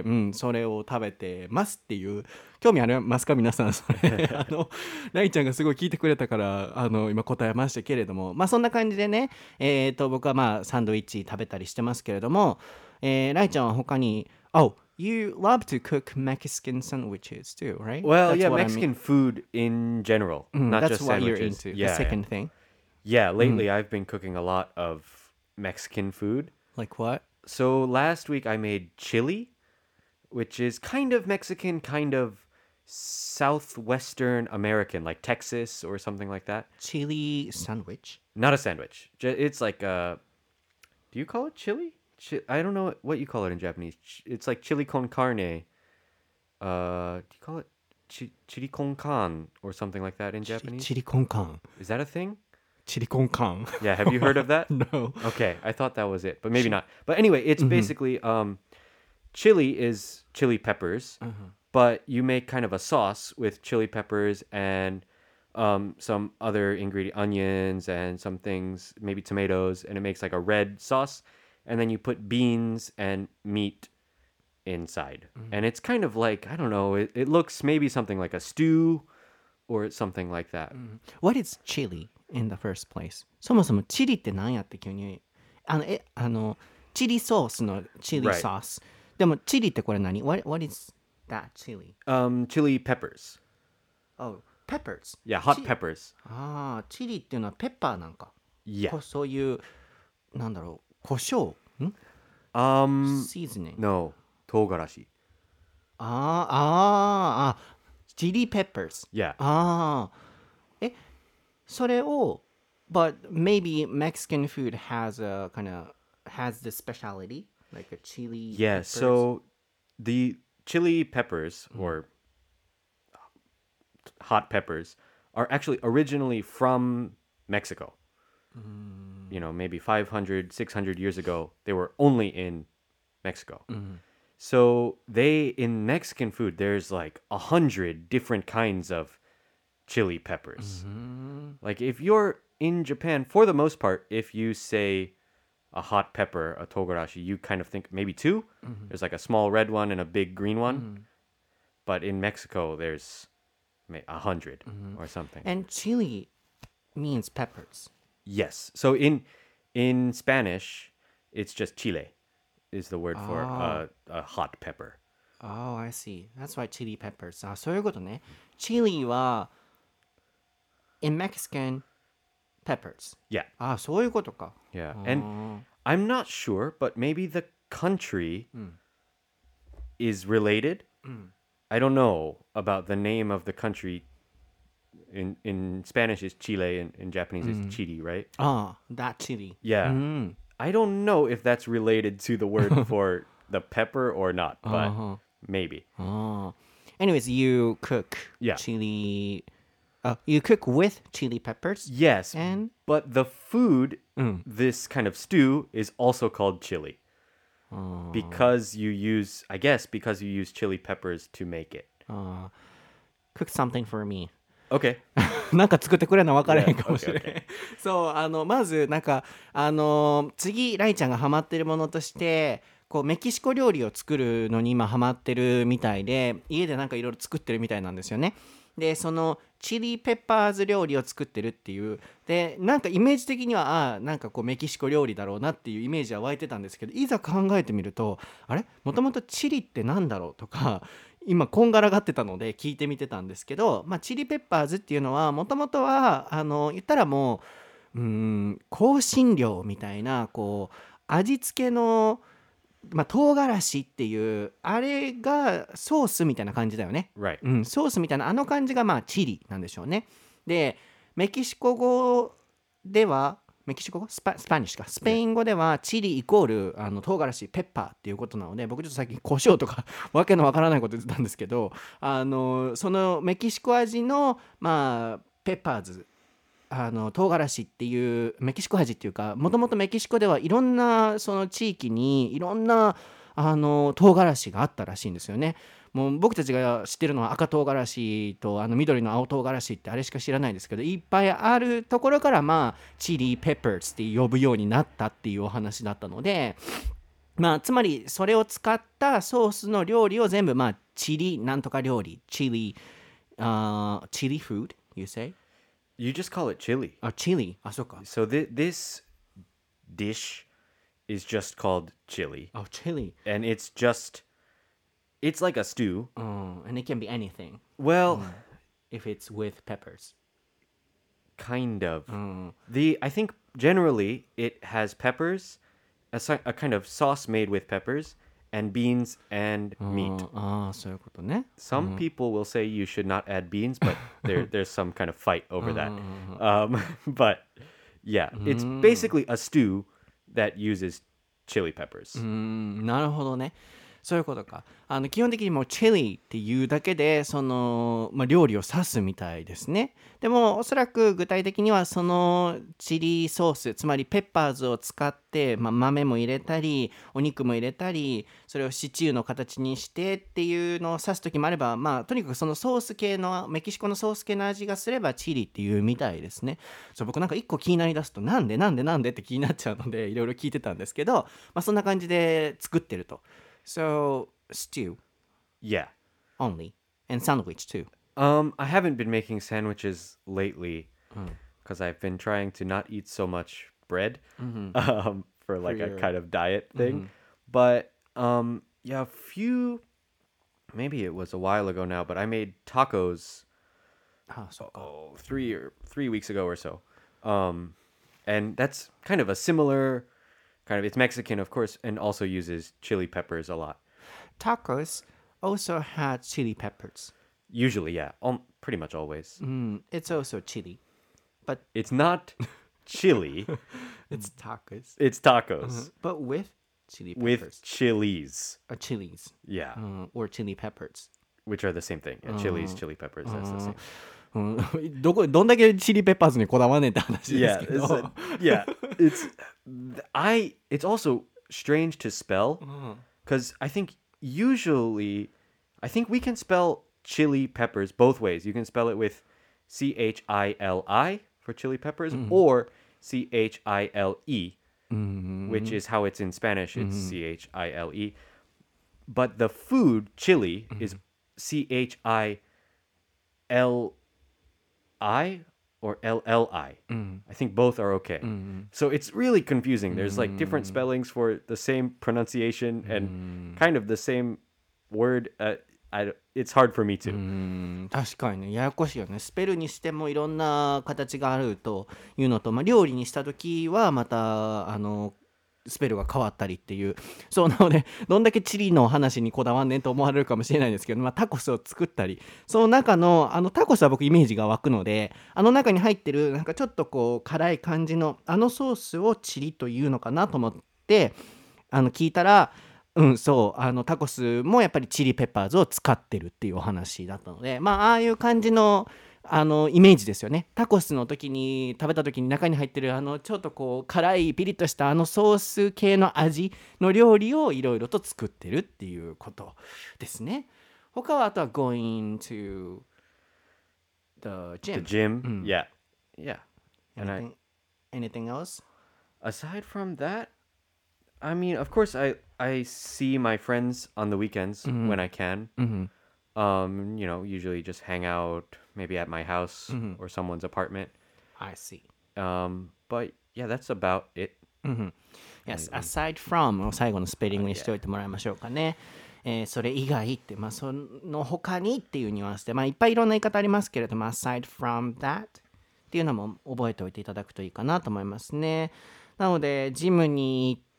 それを食べてますっていう。興味ありますか皆さん。それライちゃんがすごい聞いてくれたから今答えましたけれども、まあそんな感じでね、僕はまあサンドイッチ食べたりしてますけれども、ライちゃんは他にYou love to cook Mexican sandwiches too, right? Well, That's yeah, what I Mexican mean. food in general, not That's just what you're sandwiches. into. Yeah, The second thing. yeah. Lately, I've been cooking a lot of Mexican food. Like what? So last week I made chili, which is kind of Mexican, kind of southwestern American, like Texas or something like that. Chili sandwich? Not a sandwich. It's like do you call it chili? I don't know what you call it in Japanese. It's like chili con carne. Do you call it chili con carne or something like that in Japanese? Chili con carne. Is that a thing? Chili con carne. Yeah, have you heard of that? No. Okay, I thought that was it, but maybe not. But anyway, it's basically chili is chili peppers, but you make kind of a sauce with chili peppers and some other ingredient, onions and some things, maybe tomatoes, and it makes like a red sauce. And then you put beans and meat inside. And it's kind of like, I don't know, it looks maybe something like a stew or something like that. What is chili in the first place? そもそもチリって何やって急にチリソースのチリ Right. ソース。でもチリってこれ何 what is that chili? Chili peppers. Oh, peppers. Yeah, hot peppers. ああ、チリっていうのはペッパーなんか。 Yeah. そういうなんだろう、胡椒？seasoning. No, 唐辛子. チリペッパーズ。 Yeah. それを but maybe Mexican food has the speciality like a chili Yeah, peppers. so the chili peppers or hot peppers are actually originally from Mexico. Maybe 500, 600 years ago, they were only in Mexico. So in Mexican food, there's like 100 different kinds of chili peppers. Like if you're in Japan, for the most part, if you say a hot pepper, a togarashi, you kind of think maybe two. There's like a small red one and a big green one. But in Mexico, there's 100 or something. And chili means peppers. Yes. So in Spanish, it's just chile is the word for a hot pepper. Oh, I see. That's why chili peppers. そういうことね。チリは in Mexican peppers. Yeah. ああ、そういうことか。 Yeah. And I'm not sure, but maybe the country is related. I don't know about the name of the country. In Spanish is Chile and in Japanese is Chile, right? ああ、that chili. Yeah. I don't know if that's related to the word for the pepper or not, but maybe. Anyways, you cook Yeah. chili. You cook with chili peppers. Yes, And but the food, this kind of stew, is also called chili. Because you use, I guess, because you use chili peppers to make it. cook something for me. Okay. なんか作ってくれるの分からへん Yeah, かもしれない。 okay, そうまずなんか次ライちゃんがハマってるものとしてこうメキシコ料理を作るのに今ハマってるみたいで家でなんかいろいろ作ってるみたいなんですよね。でそのチリペッパーズ料理を作ってるっていうでなんかイメージ的にはなんかこうメキシコ料理だろうなっていうイメージは湧いてたんですけどいざ考えてみるとあれもともとチリってなんだろうとか今こんがらがってたので聞いてみてたんですけど、チリペッパーズっていうのはもともとは言ったらもう香辛料みたいなこう味付けの唐辛子っていうあれがソースみたいな感じだよね。 Right. ソースみたいなあの感じがチリなんでしょうね。でメキシコ語ではメキシコ語スパニッシュかスペイン語ではチリイコール唐辛子ペッパーっていうことなので僕ちょっとさっき胡椒とかわけのわからないこと言ってたんですけどそのメキシコ味のペッパーズ唐辛子っていうメキシコ味っていうかもともとメキシコではいろんなその地域にいろんな唐辛子があったらしいんですよね。もう僕たちが知ってるのは赤唐辛子と緑の青唐辛子ってあれしか知らないですけどいっぱいあるところからチリペッパーズって呼ぶようになったっていうお話だったのでつまりそれを使ったソースの料理を全部チリなんとか料理チリfood you say? You just call it chili. チリそうか So this dish is just called chili. chili And it's like a stew. and it can be anything Well, if it's with peppers. kind of. I think generally it has peppers, a kind of sauce made with peppers, and beans and meat. そういうことね。 Some people will say you should not add beans, but there's some kind of fight over that. But yeah, it's basically a stew that uses chili peppers. なるほどね。そういうことか。基本的にもうチリっていうだけでその、料理を指すみたいですね。でもおそらく具体的にはそのチリソースつまりペッパーズを使って、豆も入れたりお肉も入れたりそれをシチューの形にしてっていうのを指す時もあればとにかくそのソース系のメキシコのソース系の味がすればチリっていうみたいですね。そう僕なんか一個気になりだすとなんでって気になっちゃうのでいろいろ聞いてたんですけど、そんな感じで作ってると。So, stew Yeah. only, and sandwich too. I haven't been making sandwiches lately because I've been trying to not eat so much bread for like a kind of diet thing. But yeah, maybe it was a while ago now, but I made tacos そうか。 three weeks ago or so. And that's kind of a similar it's Mexican, of course, and also uses chili peppers a lot. Tacos also had chili peppers. Usually, yeah. Pretty much always. It's also chili, but It's not chili, it's tacos. it's tacos But with chili peppers. with chilies. Chilies. Yeah, Or chili peppers. which are the same thing. Yeah, chilies, chili peppers, that's the same. どんだけチリペッパーズにこだわんねんって話で Yeah, すけど。 it's also strange to spell because I think we can spell chili peppers both ways. You can spell it with CHILI for chili peppers or CHILE, which is how it's in Spanish. It's CHILE. But the food chili is CHILI or LLI. I think both are okay. So it's really confusing. There's like different spellings for the same pronunciation and kind of the same word. it's hard for me to. 確かにね、ややこしいよね。スペルにしてもいろんな形があるというのと、料理にした時はまたスペルが変わったりっていう。そうなので、どんだけチリの話にこだわんねんと思われるかもしれないですけど、タコスを作ったり、その中のタコスは僕イメージが湧くので、中に入ってるなんかちょっとこう辛い感じのソースをチリというのかなと思って聞いたら、そうタコスもやっぱりチリペッパーズを使ってるっていうお話だったので、ああいう感じのイメージですよね。タコスの時に食べた時に中に入ってるちょっとこう辛いピリッとしたソース系の味の料理をいろいろと作ってるっていうことですね。他はあとは going to the The gym. gym, yeah, and Anything else? aside from that, I mean, of course, I see my friends on the weekends when I can. Usually just hang out, maybe at my house or someone's apartment. I see. But yeah, that's about it. Yes, aside from を最後のスペリングにしておいてもらいましょうかね。それ以外って、その他にっていうニュアンスで、いっぱいいろんな言い方ありますけれども、aside from that っていうのも覚えておいていただくといいかなと思いますね。なので、ジムに行って、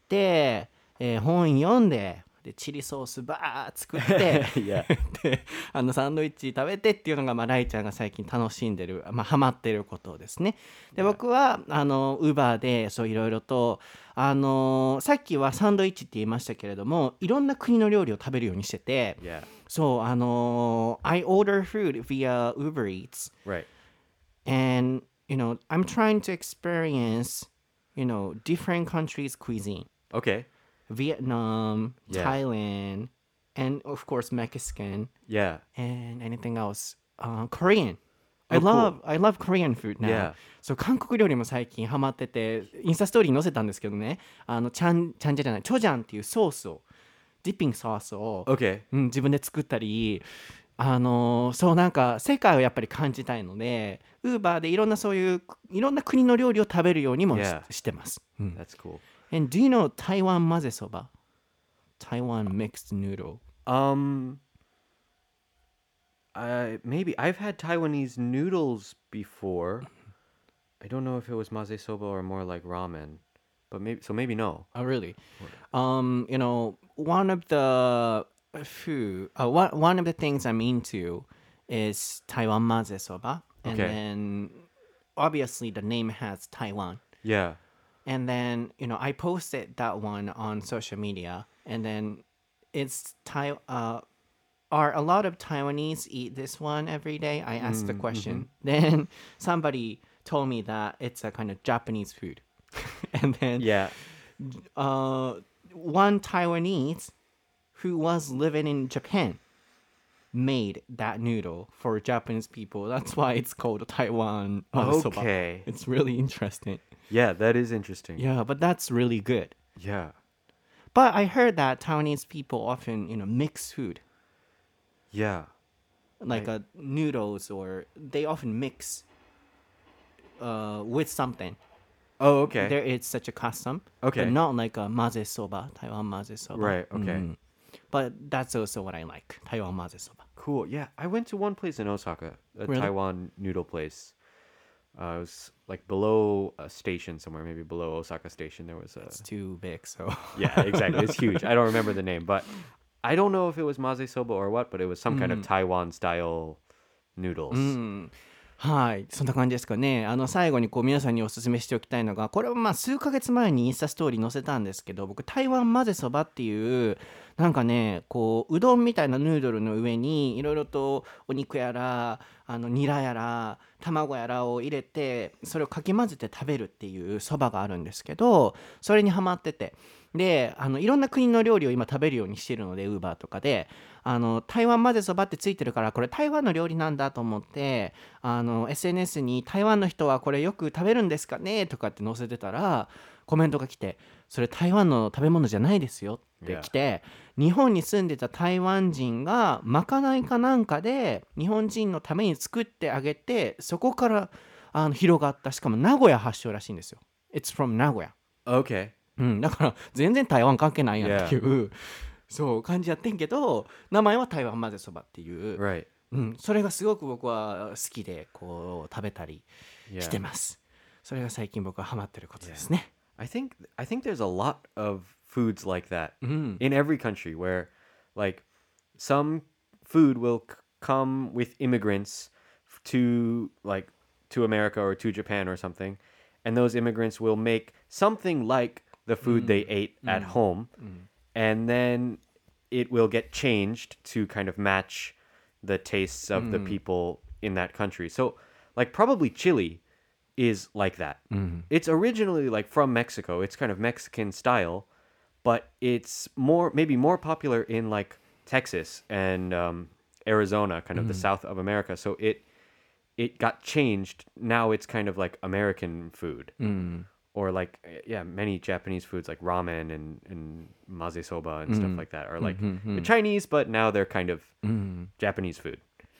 本読んで、チリソースバー作ってでサンドイッチ食べてっていうのが、ライちゃんが最近楽しんでる、ハマってることですね。で、僕はウーバーでそういろいろとさっきはサンドイッチって言いましたけれども、いろんな国の料理を食べるようにしてて、そうI order food via Uber Eats, Right. and I'm trying to experience different countries' cuisine. Okay. Vietnam, Thailand, and of course Mexican. Yeah. And anything else? Korean. Oh, I love Korean food now. Yeah. そう、韓国料理も最近ハマってて、インスタストーリーに載せたんですけどね、チャンジャじゃない、チョジャンっていうソースを、ディッピングソースを、 Okay. 自分で作ったり、そうなんか世界をやっぱり感じたいので、ウーバーでいろんなそういういろんな国の料理を食べるようにもしてます。 That's cool. And do you know Taiwan 混ぜそば? Taiwan mixed noodle. Maybe I've had Taiwanese noodles before. I don't know if it was maze soba or more like ramen, but maybe no. Oh, really? One of the one of the things I'm into is Taiwan maze soba, and then obviously the name has Taiwan. Yeah. And then, I posted that one on social media, and then it's are a lot of Taiwanese eat this one every day? I asked the question. Then somebody told me that it's a kind of Japanese food. And then one Taiwanese who was living in Japan made that noodle for Japanese people. That's why it's called Taiwan soba. Okay. It's really interesting. Yeah, that is interesting. Yeah, but that's really good. Yeah. But I heard that Taiwanese people often, mix food. Yeah. Like noodles, or they often mix with something. Oh, okay. There is such a custom. Okay. But not like a maze soba, Taiwan maze soba. Right, okay. But that's also what I like, Taiwan maze soba. Cool. Yeah, I went to one place in Osaka, a Really? Taiwan noodle place. It was like below a station somewhere, maybe below Osaka Station. There was a. It's too big, so. Yeah, exactly. It's huge. I don't remember the name, but I don't know if it was maze soba or what, but it was some kind of Taiwan style noodles. はい、そんな感じですかね。最後に皆さんにお勧めしておきたいのが、これは数ヶ月前にインスタストーリー載せたんですけど、僕台湾混ぜそばっていうなんかね、こううどんみたいなヌードルの上にいろいろとお肉やらニラやら卵やらを入れて、それをかき混ぜて食べるっていうそばがあるんですけど、それにハマってて、でいろんな国の料理を今食べるようにしてるので、ウーバーとかで台湾混ぜそばってついてるから、これ台湾の料理なんだと思って、SNS に台湾の人はこれよく食べるんですかねとかって載せてたら、コメントが来て、それ台湾の食べ物じゃないですよって来て、日本に住んでた台湾人がまかないかなんかで日本人のために作ってあげて、そこから広がった、しかも名古屋発祥らしいんですよ。 It's from 名古屋。 Okay. だから全然台湾関係ないやんっていう、 そう感じやってんけど、名前は台湾混ぜそばっていう、 Right. それがすごく僕は好きでこう食べたりし Yeah. てます。それが最近僕はハマってることですね。 I think there's a lot of foods like that in every country where like some food will come with immigrants to America or to Japan or something, and those immigrants will make something like the food they ate at home, and then it will get changed to kind of match the tastes of the people in that country. So like probably chili is like that. It's originally like from Mexico. It's kind of Mexican style, but it's maybe more popular in like Texas and Arizona, kind of the south of America. So it got changed. Now it's kind of like American food. Or like many Japanese foods like ramen and maze soba and stuff like that are like Chinese, but now they're kind of Japanese food.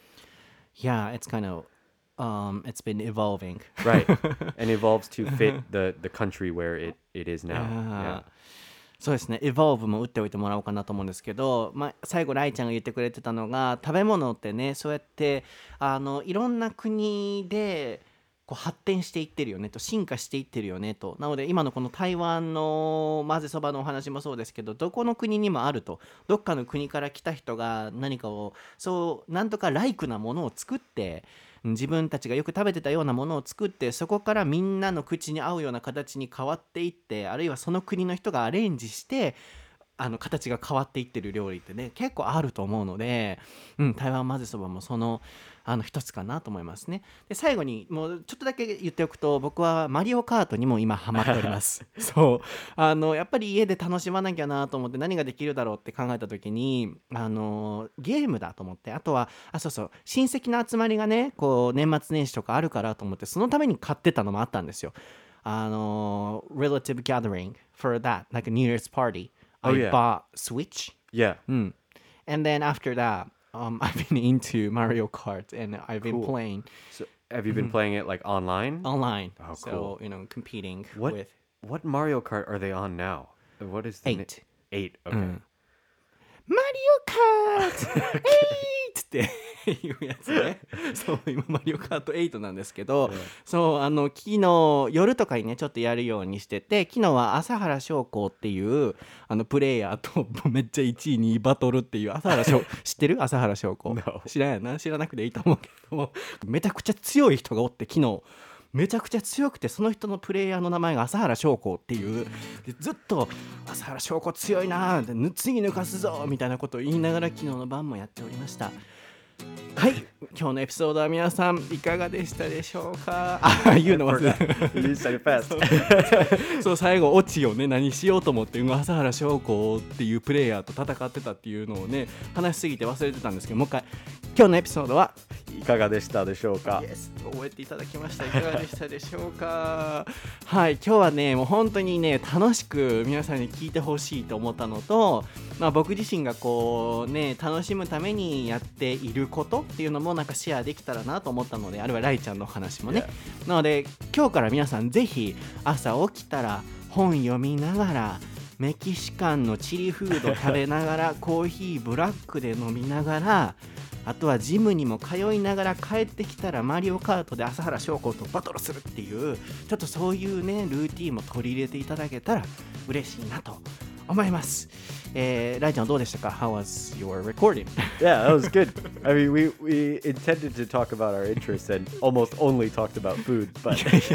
Yeah, it's kind of it's been evolving. Right. And evolves to fit the country where it is now. Yeah. そうですね、エボルブも打っておいてもらおうかなと思うんですけど、最後ライちゃんが言ってくれてたのが、食べ物ってね、そうやっていろんな国でこう発展していってるよねと、進化していってるよねと。なので今のこの台湾の混ぜそばのお話もそうですけど、どこの国にもあると。どっかの国から来た人が何かをそうなんとかライクなものを作って、自分たちがよく食べてたようなものを作って、そこからみんなの口に合うような形に変わっていって、あるいはその国の人がアレンジして形が変わっていってる料理ってね、結構あると思うので、台湾混ぜそばもその一つかなと思いますね。で最後にもうちょっとだけ言っておくと、僕はマリオカートにも今ハマっておりますそうやっぱり家で楽しまなきゃなと思って、何ができるだろうって考えた時にゲームだと思って、あとはそうそう、親戚の集まりがね、こう年末年始とかあるからと思って、そのために買ってたのもあったんですよ。relative gathering for that, like a New Year's party. I bought Switch. Yeah. And then after that, I've been into Mario Kart and I've been playing. So have you been playing it like online? Online. Oh, so, cool. Competing What with what Mario Kart are they on now? What is the 8. 8. Okay. Mario Kart 8っていうやつね。そう、今マリオカート8なんですけど、そう昨日夜とかにねちょっとやるようにしてて、昨日は朝原将校っていうプレイヤーとめっちゃ1位にバトルっていう朝原将知ってる？朝原将校 No. 知らんやな、知らなくていいと思うけども、めちゃくちゃ強い人がおって、昨日めちゃくちゃ強くて、その人のプレイヤーの名前が朝原将校っていうで、ずっと朝原将校強いなー、次抜かすぞみたいなことを言いながら昨日の晩もやっておりました。はい、今日のエピソードは皆さんいかがでしたでしょうか？言うの忘れた。 You said it fast. そう、最後オチをね何しようと思って、朝原将校っていうプレイヤーと戦ってたっていうのをね話しすぎて忘れてたんですけど、もう一回今日のエピソードはいかがでしたでしょうか？ Yes、 覚えていただきました。いかがでしたでしょうか？はい、今日はねもう本当にね楽しく皆さんに聞いてほしいと思ったのと、僕自身がこうね楽しむためにやっていることっていうのもなんかシェアできたらなと思ったので、あるいはライちゃんの話もね、なので今日から皆さんぜひ朝起きたら本読みながら、メキシカンのチリフード食べながらコーヒーブラックで飲みながら、あとはジムにも通いながら帰ってきたらマリオカートで朝原将校とバトルするっていう、ちょっとそういうねルーティーンも取り入れていただけたら嬉しいなと思います。ライちゃんどうでしたか？ How was your recording? Yeah, that was good. I mean, we intended to talk about our interests and almost only talked about food, but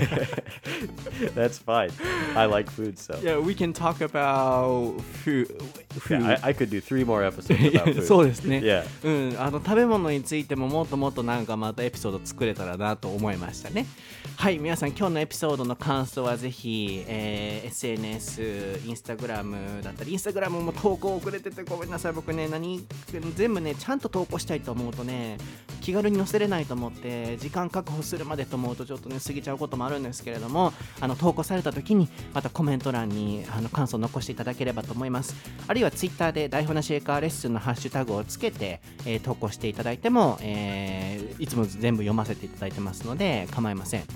that's fine. I like food, so. Yeah, we can talk about food. Yeah, I could do 3 more episodes about food. そうですね。 Yeah. 食べ物についてももっともっとなんかまたエピソード作れたらなと思いましたね。はい、皆さん今日のエピソードの感想はぜひ、SNS、Instagram だったり、Instagram も投稿遅れててごめんなさい。僕ね全部ねちゃんと投稿したいと思うとね気軽に載せれないと思って、時間確保するまでと思うとちょっとね過ぎちゃうこともあるんですけれども、投稿された時にまたコメント欄に感想を残していただければと思います。あるいはツイッターで台本なし英会話レッスンのハッシュタグをつけて、投稿していただいても、いつも全部読ませていただいてますので構いません。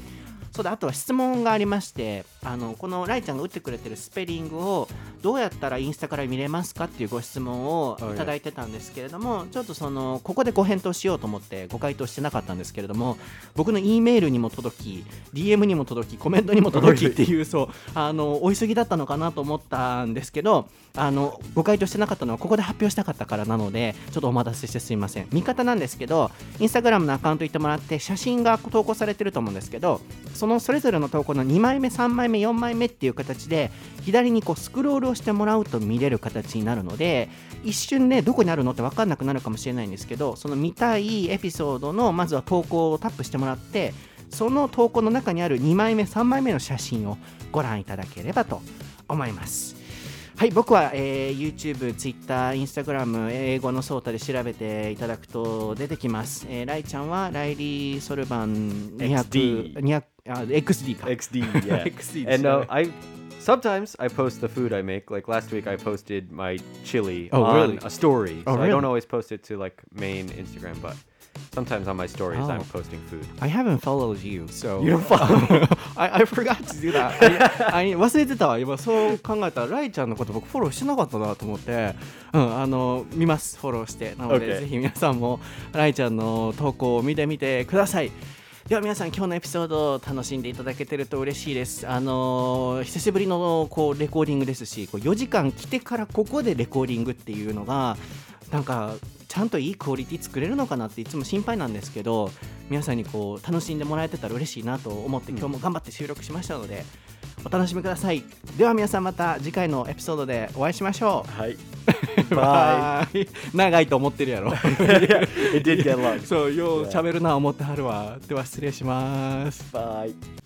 そうだ、あとは質問がありまして、このライちゃんが打ってくれてるスペリングをどうやったらインスタから見れますかっていうご質問をいただいてたんですけれども、ちょっとここでご返答しようと思ってご回答してなかったんですけれども、僕の E メールにも届き DM にも届きコメントにも届きっていうそうお急ぎだったのかなと思ったんですけど、ご回答してなかったのはここで発表したかったからなので、ちょっとお待たせしてすみません。見方なんですけど、インスタグラムのアカウント行ってもらって写真が投稿されてると思うんですけど、それぞれの投稿の2枚目3枚目4枚目っていう形で左にスクロールをしてもらうと見れる形になるので、一瞬ねどこにあるのって分かんなくなるかもしれないんですけど、その見たいエピソードのまずは投稿をタップしてもらって、その投稿の中にある2枚目3枚目の写真をご覧いただければと思います。はい、僕は、YouTube、Twitter、Instagram、英語のソータで調べていただくと出てきます。ライちゃんはライリー・ソルバン200、XD か。 XD, yeah. XD And sometimes I post the food I make. Like last week, I posted my chili Oh, on really? a story. Oh, So I don't really? always post it to like main Instagram, but sometimes on my stories, I'm posting food. I haven't followed you, so You don't follow I forgot to do that. 忘れてたわ。今そう考えたらライちゃんのこと僕フォローしてなかったなと思って、見ます、フォローして。なので、 Okay. ぜひ皆さんもライちゃんの投稿を見てみてください。では皆さん、今日のエピソードを楽しんでいただけてると嬉しいです。久しぶりのレコーディングですし、4時間来てからここでレコーディングっていうのがなんかちゃんといいクオリティ作れるのかなっていつも心配なんですけど、皆さんに楽しんでもらえてたら嬉しいなと思って今日も頑張って収録しましたので、お楽しみください。では皆さん、また次回のエピソードでお会いしましょう。 はい。 バイ。長いと思ってるやろ。 It did get long. そう、よう喋るな思ってはるわ。では失礼します。 Bye.